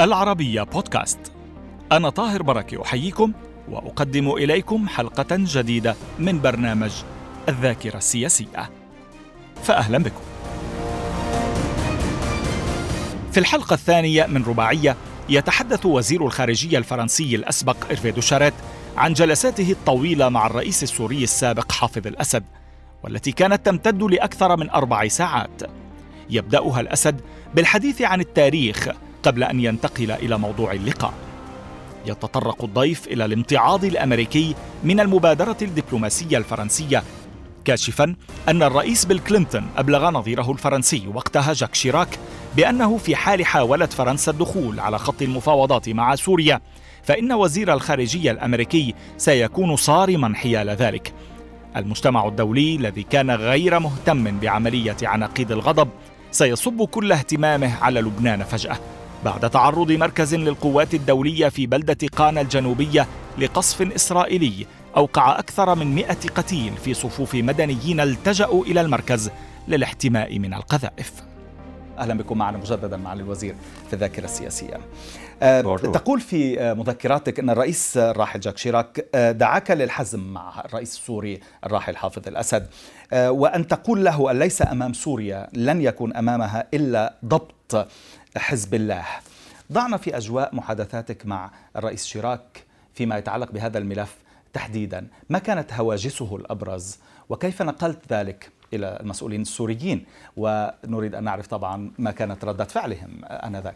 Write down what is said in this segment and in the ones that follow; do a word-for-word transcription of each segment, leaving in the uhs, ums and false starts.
العربية بودكاست. أنا طاهر بركة أحييكم وأقدم إليكم حلقة جديدة من برنامج الذاكرة السياسية، فأهلا بكم. في الحلقة الثانية من رباعية يتحدث وزير الخارجية الفرنسي الأسبق إرفي دوشاريت عن جلساته الطويلة مع الرئيس السوري السابق حافظ الأسد، والتي كانت تمتد لأكثر من أربع ساعات. يبدأها الأسد بالحديث عن التاريخ قبل أن ينتقل إلى موضوع اللقاء. يتطرق الضيف إلى الامتعاض الأمريكي من المبادرة الدبلوماسية الفرنسية، كاشفاً أن الرئيس بيل كلينتون أبلغ نظيره الفرنسي وقتها جاك شيراك بأنه في حال حاولت فرنسا الدخول على خط المفاوضات مع سوريا فإن وزير الخارجية الأمريكي سيكون صارماً حيال ذلك. المجتمع الدولي الذي كان غير مهتم بعملية عناقيد الغضب سيصب كل اهتمامه على لبنان فجأة بعد تعرض مركز للقوات الدولية في بلدة قانا الجنوبية لقصف إسرائيلي أوقع أكثر من مئة قتيل في صفوف مدنيين التجأوا إلى المركز للاحتماء من القذائف. أهلا بكم معنا مجددا معالي الوزير في الذاكرة السياسية. أه تقول في مذكراتك أن الرئيس الراحل جاك شيراك دعاك للحزم مع الرئيس السوري الراحل حافظ الأسد، أه وأن تقول له أن ليس أمام سوريا لن يكون أمامها إلا ضبط حزب الله. ضعنا في أجواء محادثاتك مع الرئيس شيراك فيما يتعلق بهذا الملف تحديدا، ما كانت هواجسه الأبرز وكيف نقلت ذلك إلى المسؤولين السوريين، ونريد أن نعرف طبعا ما كانت ردة فعلهم آنذاك.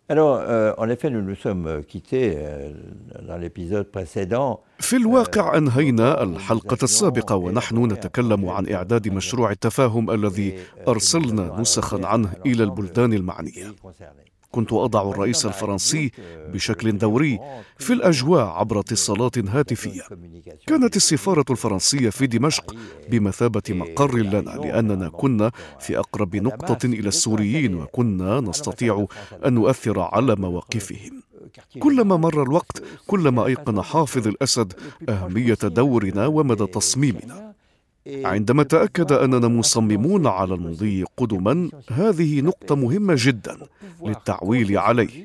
في الواقع أنهينا الحلقة السابقة ونحن نتكلم عن إعداد مشروع التفاهم الذي أرسلنا نسخا عنه إلى البلدان المعنية. كنت أضع الرئيس الفرنسي بشكل دوري في الأجواء عبر اتصالات هاتفية. كانت السفارة الفرنسية في دمشق بمثابة مقر لنا، لأننا كنا في أقرب نقطة إلى السوريين وكنا نستطيع أن نؤثر على مواقفهم. كلما مر الوقت كلما أيقن حافظ الأسد أهمية دورنا ومدى تصميمنا. عندما تأكد أننا مصممون على المضي قدما، هذه نقطة مهمة جدا للتعويل عليه.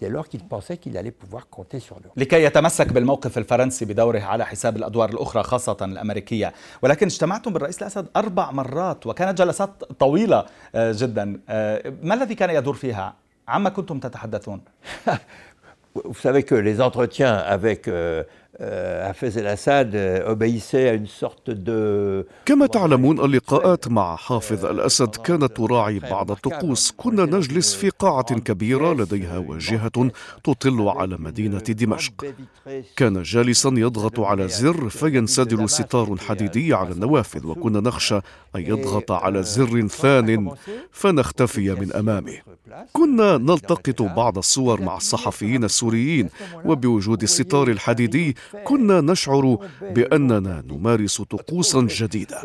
لكي يتمسك بالموقف الفرنسي بدوره على حساب الأدوار الأخرى خاصة الأمريكية، ولكن اجتمعتم بالرئيس الأسد أربع مرات وكانت جلسات طويلة جدا. ما الذي كان يدور فيها؟ عما كنتم تتحدثون؟ Vous savez que les entretiens avec حافظ الأسد obéissait à une sorte de كما تعلمون اللقاءات مع حافظ الأسد كانت تراعي بعض الطقوس. كنا نجلس في قاعة كبيرة لديها واجهة تطل على مدينة دمشق. كان جالسا يضغط على زر فينسدل ستار حديدي على النوافذ، وكنا نخشى أن يضغط على زر ثان فنختفي من أمامه. كنا نلتقط بعض الصور مع الصحفيين السوريين، وبوجود الستار الحديدي كنا نشعر بأننا نمارس طقوسا جديدة.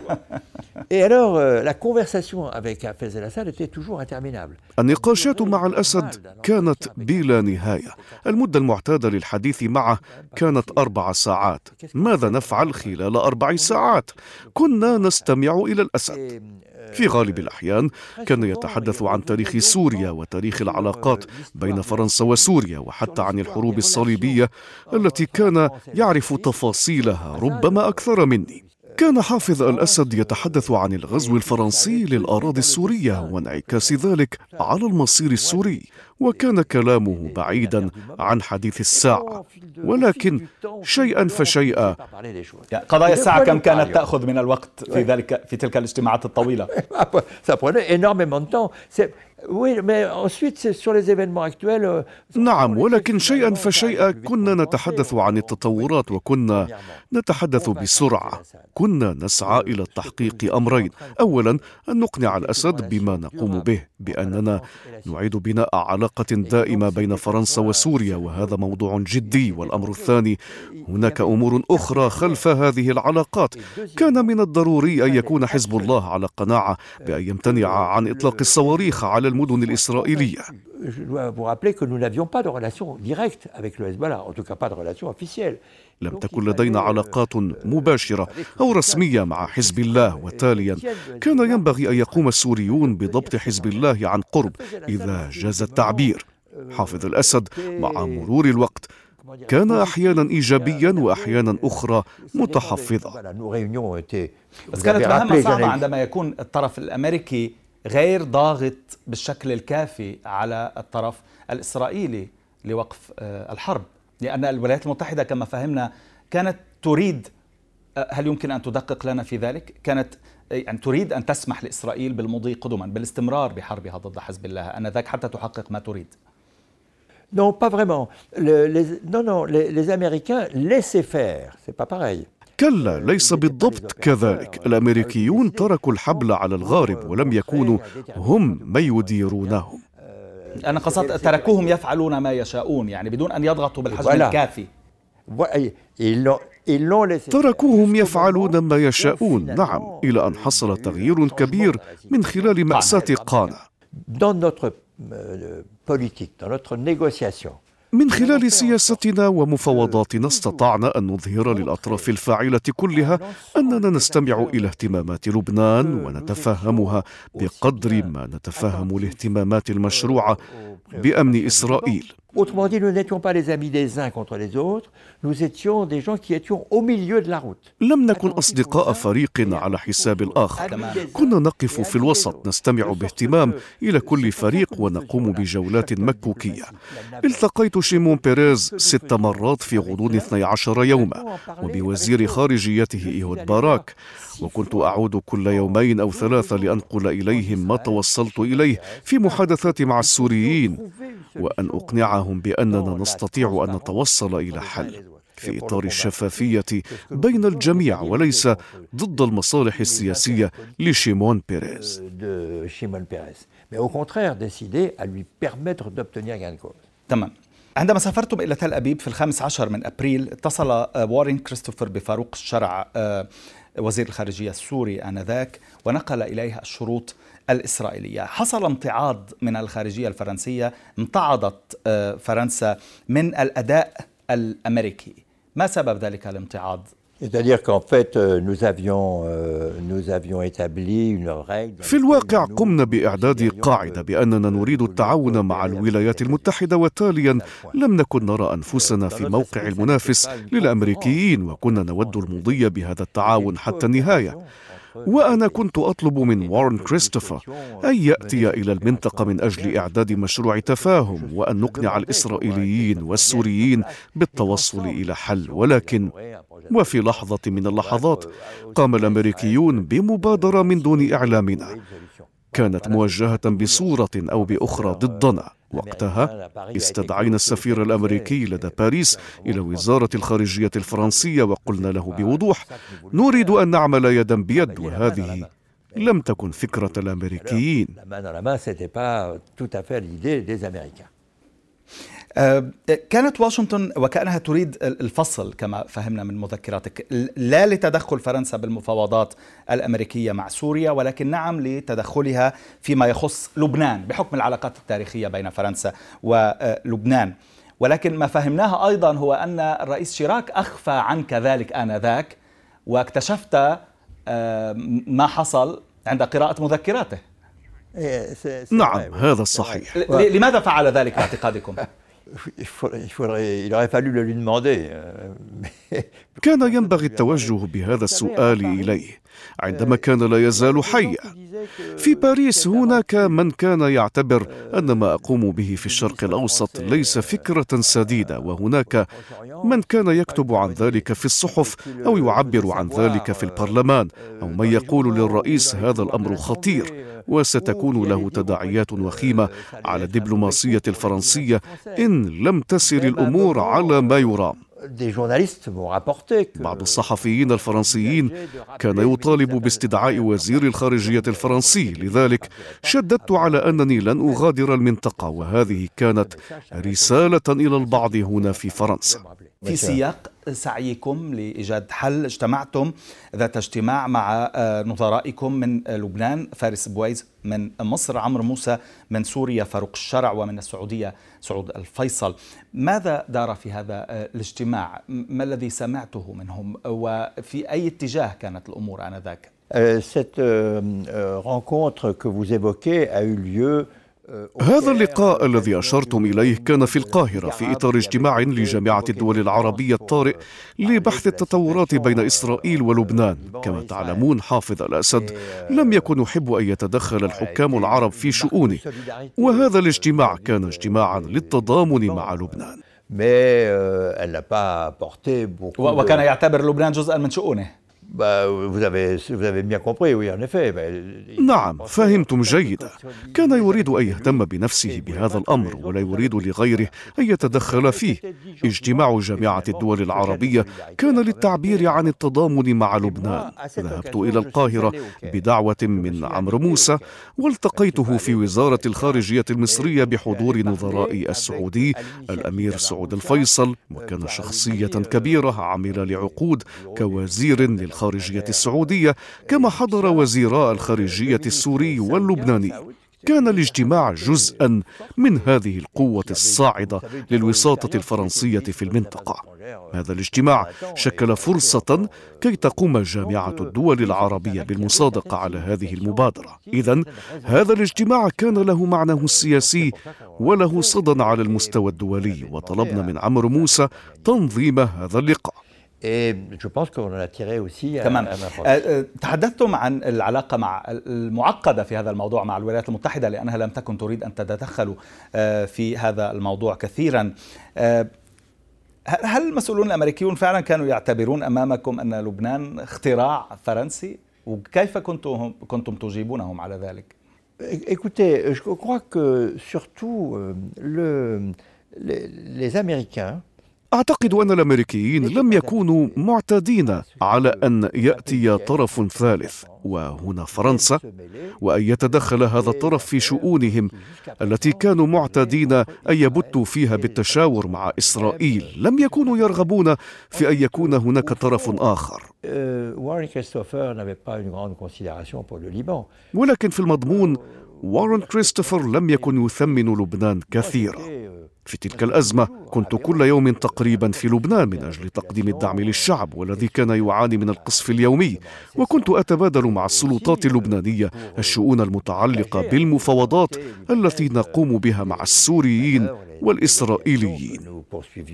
النقاشات مع الأسد كانت بلا نهاية. المدة المعتادة للحديث معه كانت أربع ساعات. ماذا نفعل خلال أربع ساعات؟ كنا نستمع إلى الأسد. في غالب الأحيان كان يتحدث عن تاريخ سوريا وتاريخ العلاقات بين فرنسا وسوريا، وحتى عن الحروب الصليبية التي كان يعرف تفاصيلها ربما أكثر مني. كان حافظ الأسد يتحدث عن الغزو الفرنسي للأراضي السورية وانعكاس ذلك على المصير السوري، وكان كلامه بعيدا عن حديث الساعة، ولكن شيئا فشيئا. قضايا الساعة كم كانت تأخذ من الوقت في ذلك في تلك الاجتماعات الطويلة؟ نعم، ولكن شيئا فشيئا كنا نتحدث عن التطورات وكنا نتحدث بسرعة. كنا نسعى إلى تحقيق أمرين: أولا أن نقنع الأسد بما نقوم به، بأننا نعيد بناء علاقة دائمة بين فرنسا وسوريا، وهذا موضوع جدي. والأمر الثاني، هناك أمور أخرى خلف هذه العلاقات. كان من الضروري أن يكون حزب الله على قناعة بأن يمتنع عن إطلاق الصواريخ على المدن الإسرائيلية. لم تكن لدينا علاقات مباشرة أو رسمية مع حزب الله، وتاليا كان ينبغي أن يقوم السوريون بضبط حزب الله عن قرب إذا جاز التعبير. حافظ الأسد مع مرور الوقت كان أحيانا إيجابيا وأحيانا أخرى متحفظا. بس كانت مهمة صعبة عندما يكون الطرف الأمريكي غير ضاغط بالشكل الكافي على الطرف الإسرائيلي لوقف الحرب، لأن الولايات المتحدة كما فهمنا كانت تريد، هل يمكن أن تدقق لنا في ذلك؟ كانت يعني تريد أن تسمح لإسرائيل بالمضي قدما، بالاستمرار بحربها ضد حزب الله آنذاك حتى تحقق ما تريد. Non, pas vraiment. Le, les, non, non, les, les Américains laissaient faire. C'est pas pareil. كلا، ليس بالضبط كذلك. الأمريكيون تركوا الحبل على الغارب ولم يكونوا هم من يديرونهم. أنا قصدت تركوهم يفعلون ما يشاءون، يعني بدون أن يضغطوا بالحجم الكافي. تركوهم يفعلون ما يشاءون، نعم، إلى أن حصل تغيير كبير من خلال مأساة قانا. من خلال سياستنا ومفاوضاتنا استطعنا أن نظهر للأطراف الفاعلة كلها أننا نستمع إلى اهتمامات لبنان ونتفهمها بقدر ما نتفهم الاهتمامات المشروعة بأمن إسرائيل. Autrement dit, nous n'étions pas les amis des uns contre les autres, nous étions des gens qui étions au milieu de la route. لم نكن أصدقاء فريق على حساب الآخر، كنا نقف في الوسط نستمع باهتمام إلى كل فريق ونقوم بجولات مكوكية. التقيت شيمون بيريز ست مرات في غضون اثني عشر يوما، وبوزير خارجيته إيهود باراك، وكنت أعود كل يومين أو ثلاثة لأنقل إليهم ما توصلت إليه في محادثات مع السوريين، وأن أقنعهم بأننا نستطيع أن نتوصل إلى حل في إطار الشفافية بين الجميع وليس ضد المصالح السياسية لشيمون بيريز. تمام. عندما سافرتم إلى تل أبيب في الخامس عشر من أبريل، اتصل وارين كريستوفر بفاروق الشرع وزير الخارجية السوري آنذاك ونقل إليه الشروط الإسرائيلية. حصل امتعاض من الخارجية الفرنسية، امتعضت فرنسا من الأداء الأمريكي. ما سبب ذلك الامتعاض؟ في الواقع قمنا بإعداد قاعدة بأننا نريد التعاون مع الولايات المتحدة، وتاليا لم نكن نرى أنفسنا في موقع المنافس للأمريكيين، وكنا نود المضي بهذا التعاون حتى النهاية. وأنا كنت أطلب من وارن كريستوفر أن يأتي إلى المنطقة من أجل إعداد مشروع تفاهم وأن نقنع الإسرائيليين والسوريين بالتوصل إلى حل، ولكن وفي لحظة من اللحظات قام الأمريكيون بمبادرة من دون إعلامنا، كانت موجهة بصورة أو بأخرى ضدنا. وقتها استدعينا السفير الأمريكي لدى باريس إلى وزارة الخارجية الفرنسية وقلنا له بوضوح: نريد أن نعمل يدا بيد، وهذه لم تكن فكرة الأمريكيين. كانت واشنطن وكأنها تريد الفصل كما فهمنا من مذكراتك، لا لتدخل فرنسا بالمفاوضات الأمريكية مع سوريا، ولكن نعم لتدخلها فيما يخص لبنان بحكم العلاقات التاريخية بين فرنسا ولبنان. ولكن ما فهمناه أيضا هو أن الرئيس شيراك أخفى عنك ذلك آنذاك، واكتشفت ما حصل عند قراءة مذكراته. نعم، هذا صحيح. لماذا فعل ذلك باعتقادكم؟ كان ينبغي التوجه بهذا السؤال إليه عندما كان لا يزال حيا. في باريس هناك من كان يعتبر أن ما أقوم به في الشرق الأوسط ليس فكرة سديدة، وهناك من كان يكتب عن ذلك في الصحف أو يعبر عن ذلك في البرلمان، أو من يقول للرئيس هذا الأمر خطير وستكون له تداعيات وخيمة على الدبلوماسية الفرنسية إن لم تسر الأمور على ما يرام. بعض الصحفيين الفرنسيين كان يطالب باستدعاء وزير الخارجية الفرنسي، لذلك شددت على أنني لن أغادر المنطقة، وهذه كانت رسالة إلى البعض هنا في فرنسا. في سياق سعيكم لإيجاد حل اجتمعتم ذات اجتماع مع نظرائكم من لبنان فارس بويز، من مصر عمرو موسى، من سوريا فاروق الشرع، ومن السعودية سعود الفيصل. ماذا دار في هذا الاجتماع؟ ما الذي سمعته منهم وفي أي اتجاه كانت الأمور آنذاك؟ Cette rencontre que vous évoquez a eu lieu هذا اللقاء الذي أشرتم إليه كان في القاهرة في إطار اجتماع لجامعة الدول العربية الطارئ لبحث التطورات بين إسرائيل ولبنان. كما تعلمون حافظ الأسد لم يكن يحب أن يتدخل الحكام العرب في شؤونه، وهذا الاجتماع كان اجتماعا للتضامن مع لبنان. وكان يعتبر لبنان جزءا من شؤونه. نعم، فهمتم جيدا. كان يريد أن يهتم بنفسه بهذا الأمر ولا يريد لغيره أن يتدخل فيه. اجتماع جامعة الدول العربية كان للتعبير عن التضامن مع لبنان. ذهبت إلى القاهرة بدعوة من عمرو موسى، والتقيته في وزارة الخارجية المصرية بحضور نظرائي السعودي الأمير سعود الفيصل، وكان شخصية كبيرة عمل لعقود كوزير للخارجية الخارجية السعودية، كما حضر وزيراء الخارجية السوري واللبناني. كان الاجتماع جزءا من هذه القوة الصاعدة للوساطة الفرنسية في المنطقة. هذا الاجتماع شكل فرصة كي تقوم جامعة الدول العربية بالمصادقة على هذه المبادرة. إذن هذا الاجتماع كان له معناه السياسي وله صدى على المستوى الدولي، وطلبنا من عمرو موسى تنظيم هذا اللقاء. تمام. تحدثتم عن العلاقة مع المعقدة في هذا الموضوع مع الولايات المتحدة، لأنها لم تكن تريد أن تتدخل في هذا الموضوع كثيرا. هل المسؤولون الأمريكيون فعلا كانوا يعتبرون أمامكم أن لبنان اختراع فرنسي؟ وكيف كنتم كنتم تجيبونهم على ذلك؟ Écoutez, je crois que surtout le les Américains أعتقد أن الأمريكيين لم يكونوا معتادين على أن يأتي طرف ثالث، وهنا فرنسا، وأن يتدخل هذا الطرف في شؤونهم التي كانوا معتادين أن يبتوا فيها بالتشاور مع إسرائيل. لم يكونوا يرغبون في أن يكون هناك طرف آخر. ولكن في المضمون وارن كريستوفر لم يكن يثمن لبنان كثيرا. في تلك الأزمة كنت كل يوم تقريبا في لبنان من أجل تقديم الدعم للشعب والذي كان يعاني من القصف اليومي، وكنت أتبادل مع السلطات اللبنانية الشؤون المتعلقة بالمفاوضات التي نقوم بها مع السوريين والإسرائيليين.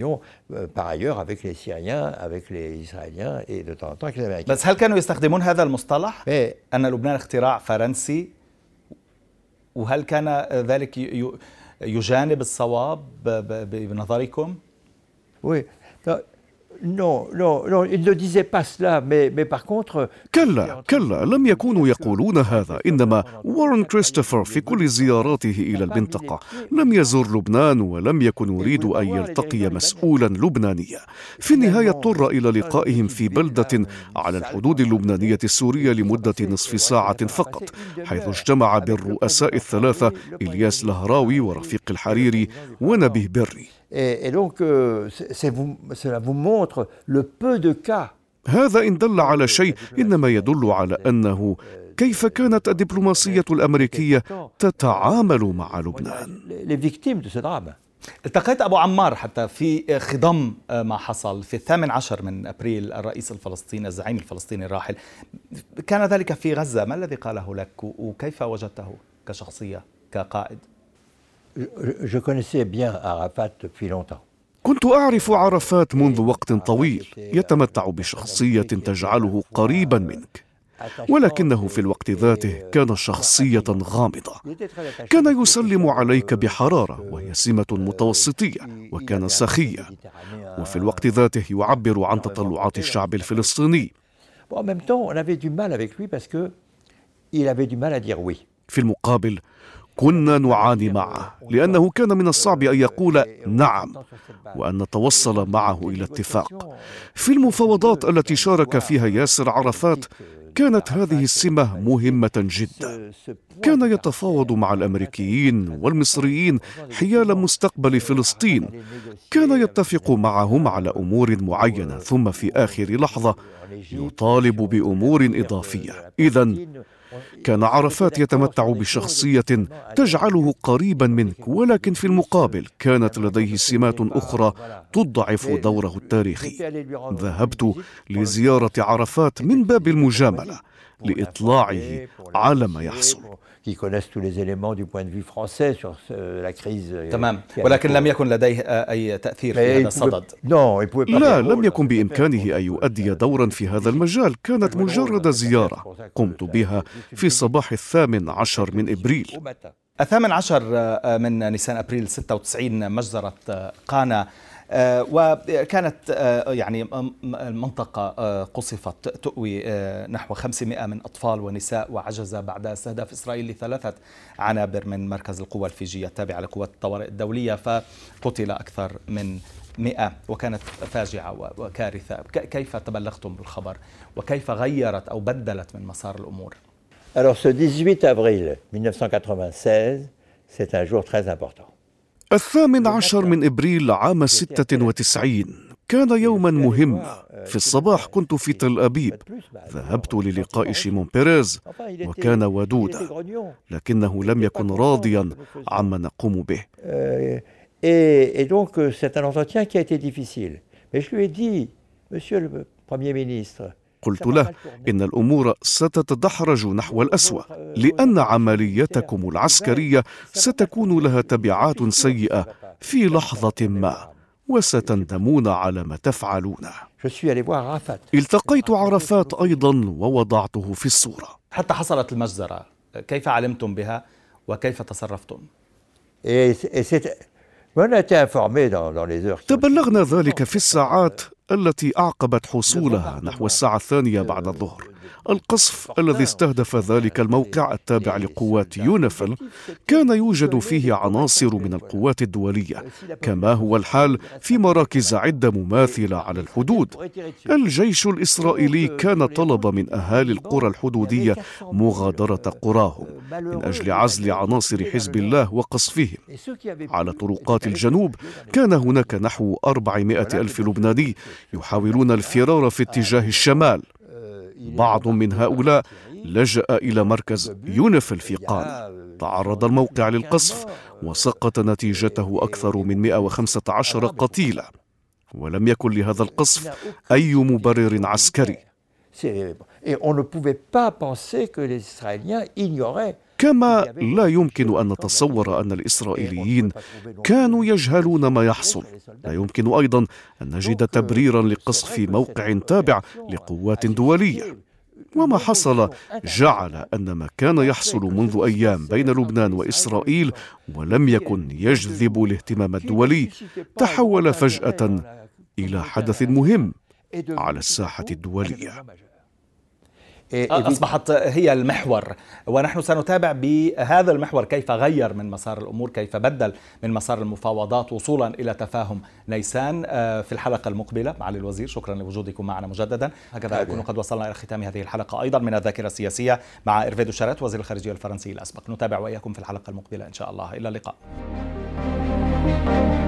بس هل كانوا يستخدمون هذا المصطلح أن لبنان اختراع فرنسي؟ وهل كان ذلك يجانب الصواب بنظركم؟ Oui. Non, non, non, ils ne disaient pas cela, mais, mais par contre... كلا كلا لم يكونوا يقولون هذا. إنما وارن كريستوفر في كل زياراته إلى المنطقة لم يزور لبنان ولم يكن يريد أن يلتقي مسؤولا لبنانيا. في النهاية اضطر إلى لقائهم في بلدة على الحدود اللبنانية السورية لمدة نصف ساعة فقط، حيث اجتمع بالرؤساء الثلاثة إلياس لهراوي ورفيق الحريري ونبيه بري. Et donc, euh, c'est vous, cela vous montre le peu de cas. هذا إن دل على شيء إنما يدل على أنه كيف كانت الدبلوماسية الأمريكية تتعامل مع لبنان. التقيت أبو عمار حتى في خضم ما حصل في الثامن عشر من أبريل الرئيس الفلسطيني الزعيم الفلسطيني الراحل. كان ذلك في غزة. ما الذي قاله لك وكيف وجدته كشخصية كقائد؟ Je connaissais bien Arafat depuis longtemps. كنت أعرف عرفات منذ وقت طويل، يتمتع بشخصية تجعله قريبا منك، ولكنه في الوقت ذاته كان شخصية غامضة. كان يسلم عليك بحرارة وهي سمة متوسطية، وكان سخيا، وفي الوقت ذاته يعبر عن تطلعات الشعب الفلسطيني. في المقابل كنا نعاني معه لأنه كان من الصعب أن يقول نعم وأن نتوصل معه إلى اتفاق. في المفاوضات التي شارك فيها ياسر عرفات كانت هذه السمة مهمة جدا. كان يتفاوض مع الأمريكيين والمصريين حيال مستقبل فلسطين، كان يتفق معهم على أمور معينة ثم في آخر لحظة يطالب بأمور إضافية. إذن كان عرفات يتمتع بشخصية تجعله قريبا منك، ولكن في المقابل كانت لديه سمات أخرى تضعف دوره التاريخي. ذهبت لزيارة عرفات من باب المجاملة، لإطلاعه على ما يحصل. تمام، ولكن لم يكن لديه أي تأثير في هذا الصدد. لا، لم يكن بإمكانه أن يؤدي دورا في هذا المجال. كانت مجرد زيارة قمت بها في صباح الثامن عشر من إبريل. الثامن عشر من نيسان أبريل ستة وتسعين مجزرة قانا، وكانت يعني المنطقة قصفت تؤوي نحو خمسمائة من أطفال ونساء، وعجز بعد استهداف إسرائيل لثلاثة عنابر من مركز القوى الفيجية التابع لقوات الطوارئ الدولية، فقتل أكثر من مئة، وكانت فاجعة وكارثة. كيف تبلغتم بالخبر وكيف غيرت أو بدلت من مسار الأمور؟ Alors ce dix-huit avril mille neuf cent quatre-vingt-seize, c'est un jour très important. الثامن عشر من إبريل عام ستة وتسعين كان يوما مهم. في الصباح كنت في تل أبيب، ذهبت للقاء شيمون بيريز وكان ودودا، لكنه لم يكن راضيا عما نقوم به. Et donc c'est un entretien qui a été difficile. Mais je lui ai dit, Monsieur le Premier ministre, قلت له إن الأمور ستتدحرج نحو الأسوأ، لأن عمليتكم العسكرية ستكون لها تبعات سيئة في لحظة ما، وستندمون على ما تفعلون. التقيت عرفات أيضا ووضعته في الصورة. حتى حصلت المجزرة، كيف علمتم بها وكيف تصرفتم؟ تبلغنا ذلك في الساعات التي أعقبت حصولها نحو الساعة الثانية بعد الظهر. القصف الذي استهدف ذلك الموقع التابع لقوات يونيفيل كان يوجد فيه عناصر من القوات الدولية، كما هو الحال في مراكز عدة مماثلة على الحدود. الجيش الإسرائيلي كان طلب من أهالي القرى الحدودية مغادرة قراهم من أجل عزل عناصر حزب الله وقصفهم. على طرقات الجنوب كان هناك نحو أربعمائة ألف لبناني يحاولون الفرار في اتجاه الشمال. بعض من هؤلاء لجأ إلى مركز يونيفيل في قانا. تعرض الموقع للقصف وسقط نتيجته أكثر من مئة وخمسة عشر قتيلا، ولم يكن لهذا القصف أي مبرر عسكري. كما لا يمكن أن نتصور أن الإسرائيليين كانوا يجهلون ما يحصل. لا يمكن أيضا أن نجد تبريرا لقصف موقع تابع لقوات دولية. وما حصل جعل أن ما كان يحصل منذ أيام بين لبنان وإسرائيل ولم يكن يجذب الاهتمام الدولي تحول فجأة إلى حدث مهم على الساحة الدولية. أصبحت هي المحور، ونحن سنتابع بهذا المحور كيف غير من مسار الأمور، كيف بدل من مسار المفاوضات وصولا إلى تفاهم نيسان في الحلقة المقبلة. معالي الوزير، شكرا لوجودكم معنا مجددا. هكذا نكون قد وصلنا إلى ختام هذه الحلقة أيضا من الذاكرة السياسية مع إيرفي دوشاريت وزير الخارجية الفرنسي الأسبق. نتابع وإياكم في الحلقة المقبلة إن شاء الله. إلى اللقاء.